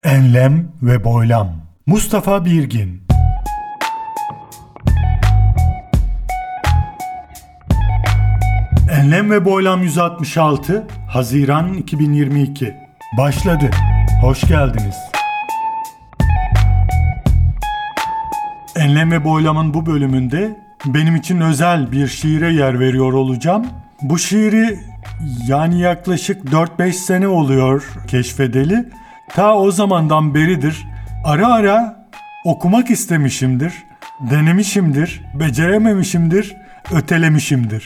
Enlem ve Boylam. Mustafa Birgin. Enlem ve Boylam 166, Haziran 2022. Başladı. Hoş geldiniz. Enlem ve Boylam'ın bu bölümünde benim için özel bir şiire yer veriyor olacağım. Bu şiiri yaklaşık 4-5 sene oluyor keşfedeli. Ta o zamandan beridir ara ara okumak istemişimdir, denemişimdir, becerememişimdir, ötelemişimdir.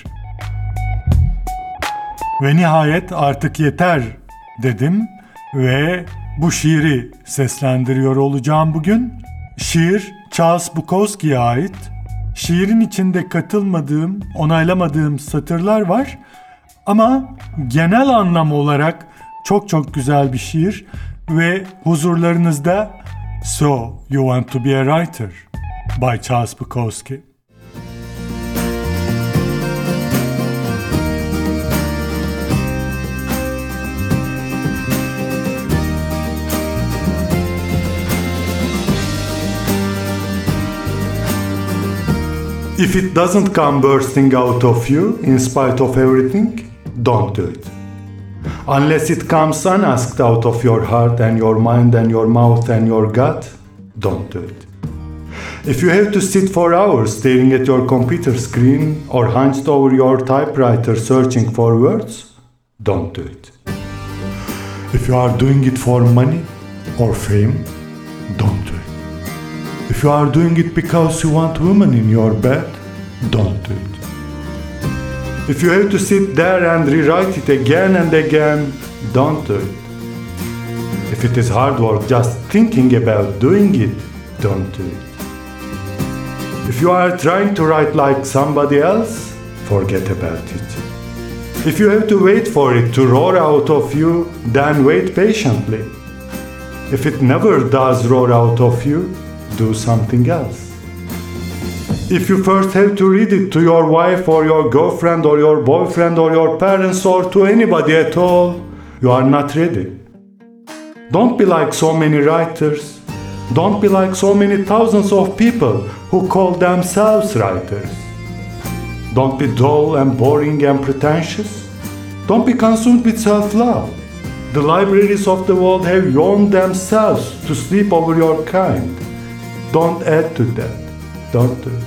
Ve nihayet artık yeter dedim ve bu şiiri seslendiriyor olacağım bugün. Şiir Charles Bukowski'ye ait. Şiirin içinde katılmadığım, onaylamadığım satırlar var ama genel anlam olarak çok güzel bir şiir ve huzurlarınızda So You Want to Be a Writer by Charles Bukowski. If it doesn't come bursting out of you in spite of everything, don't do it. Unless it comes unasked out of your heart and your mind and your mouth and your gut, don't do it. If you have to sit for hours staring at your computer screen or hunched over your typewriter searching for words, don't do it. If you are doing it for money or fame, don't do it. If you are doing it because you want women in your bed, don't do it. If you have to sit there and rewrite it again and again, don't do it. If it is hard work just thinking about doing it, don't do it. If you are trying to write like somebody else, forget about it. If you have to wait for it to roar out of you, then wait patiently. If it never does roar out of you, do something else. If you first have to read it to your wife or your girlfriend or your boyfriend or your parents or to anybody at all, you are not ready. Don't be like so many writers. Don't be like so many thousands of people who call themselves writers. Don't be dull and boring and pretentious. Don't be consumed with self-love. The libraries of the world have yawned themselves to sleep over your kind. Don't add to that. Don't do it.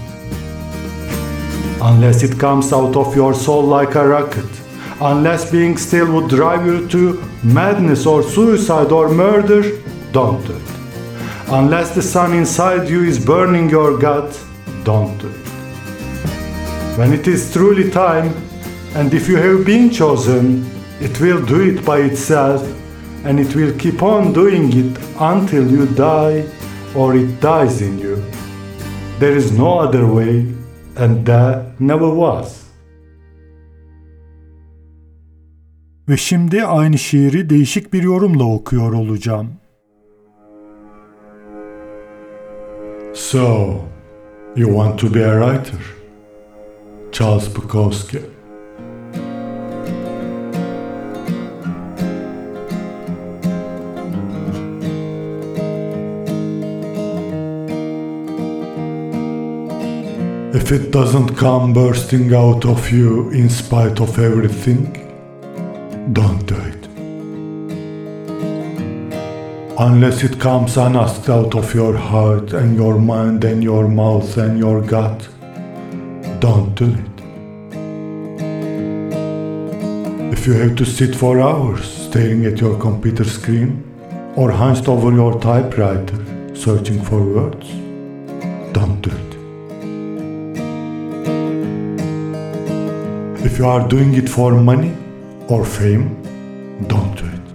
Unless it comes out of your soul like a rocket. Unless being still would drive you to madness or suicide or murder, don't do it. Unless the sun inside you is burning your gut, don't do it. When it is truly time, and if you have been chosen, it will do it by itself, and it will keep on doing it until you die or it dies in you. There is no other way, and there never was. Ve şimdi aynı şiiri değişik bir yorumla okuyor olacağım. So, you want to be a writer? Charles Bukowski. If it doesn't come bursting out of you in spite of everything, don't do it. Unless it comes unasked out of your heart and your mind and your mouth and your gut, don't do it. If you have to sit for hours staring at your computer screen or hunched over your typewriter searching for words, don't do it. If you are doing it for money or fame, don't do it.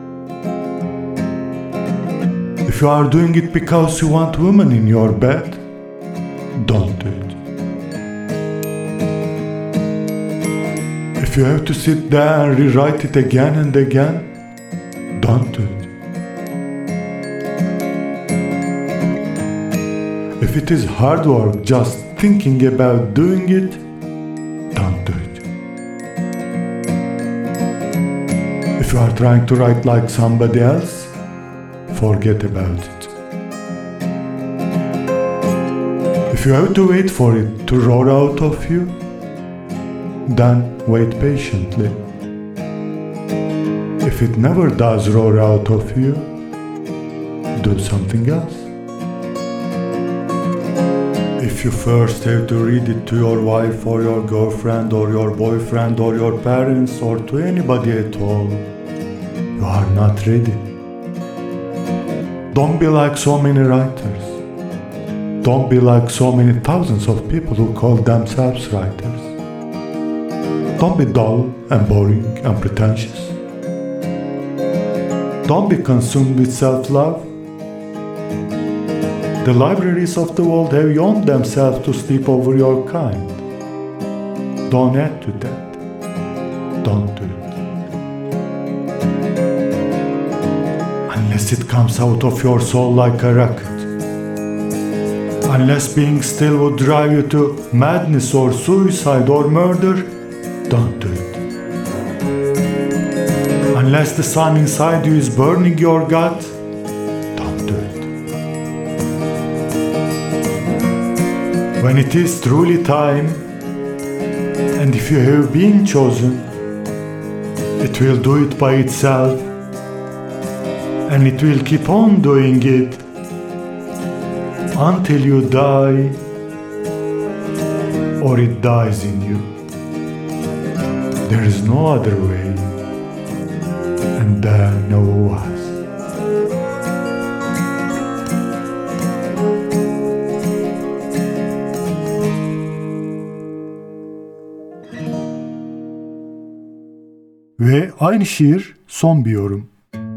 If you are doing it because you want women in your bed, don't do it. If you have to sit there and rewrite it again and again, don't do it. If it is hard work just thinking about doing it, don't do it. If you are trying to write like somebody else, forget about it. If you have to wait for it to roar out of you, then wait patiently. If it never does roar out of you, do something else. If you first have to read it to your wife or your girlfriend or your boyfriend or your parents or to anybody at all, you are not ready. Don't be like so many writers. Don't be like so many thousands of people who call themselves writers. Don't be dull and boring and pretentious. Don't be consumed with self-love. The libraries of the world have yawned themselves to sleep over your kind. Don't add to that. Don't do it. Unless it comes out of your soul like a rocket. Unless being still would drive you to madness or suicide or murder, don't do it. Unless the sun inside you is burning your gut, don't do it. When it is truly time, and if you have been chosen, it will do it by itself, and it will keep on doing it until you die, or it dies in you. There is no other way, and there never was. Ve aynı şiir son bir yorum.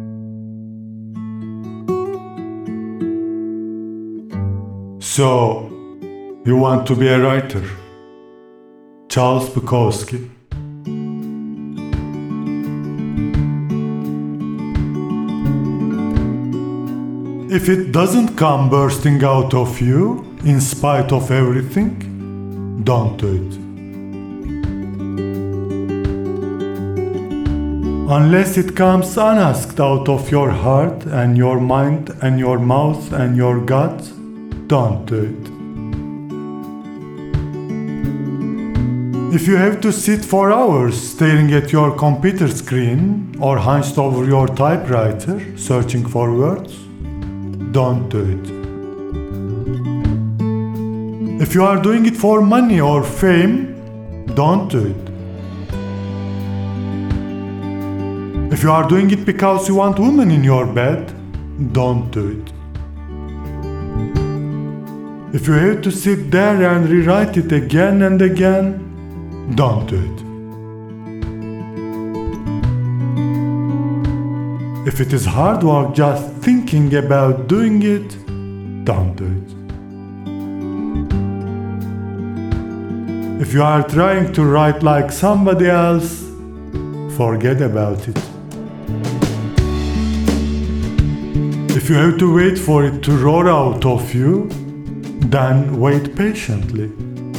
So, you want to be a writer? Charles Bukowski. If it doesn't come bursting out of you, in spite of everything, don't do it. Unless it comes unasked out of your heart and your mind and your mouth and your gut, don't do it. If you have to sit for hours staring at your computer screen or hunched over your typewriter searching for words, don't do it. If you are doing it for money or fame, don't do it. If you are doing it because you want women in your bed, don't do it. If you have to sit there and rewrite it again and again, don't do it. If it is hard work just thinking about doing it, don't do it. If you are trying to write like somebody else, forget about it. If you have to wait for it to roar out of you, then wait patiently.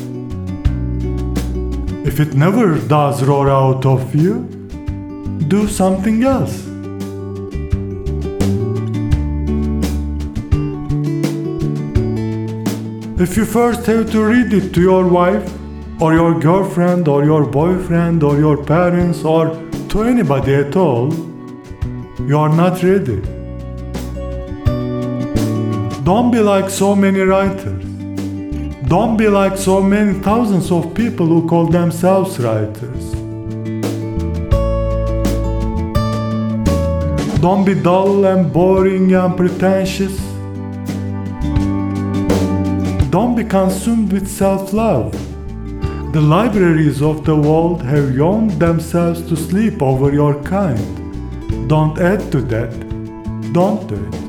If it never does roar out of you, do something else. If you first have to read it to your wife, or your girlfriend, or your boyfriend, or your parents, or to anybody at all, you are not ready. Don't be like so many writers. Don't be like so many thousands of people who call themselves writers. Don't be dull and boring and pretentious. Don't be consumed with self-love. The libraries of the world have yawned themselves to sleep over your kind. Don't add to that. Don't do it.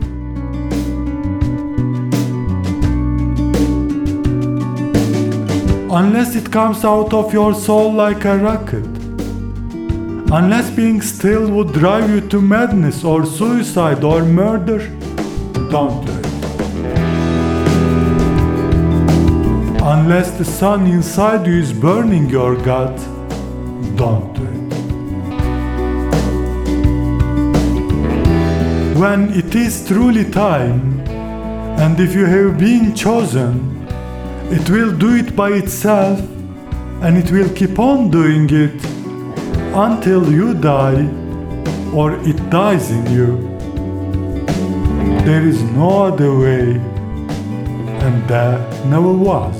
Unless it comes out of your soul like a rocket. Unless being still would drive you to madness or suicide or murder, don't do it. Unless the sun inside you is burning your gut, don't do it. when it is truly time, and if you have been chosen, it will do it by itself, and it will keep on doing it until you die or it dies in you. There is no other way, and there never was.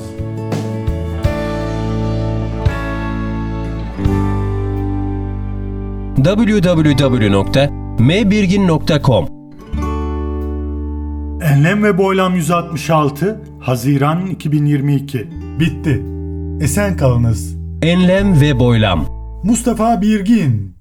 www.mbirgin.com Enlem ve Boylam 166 Haziran 2022 Bitti. Esen kalınız. Enlem ve Boylam. Mustafa Birgin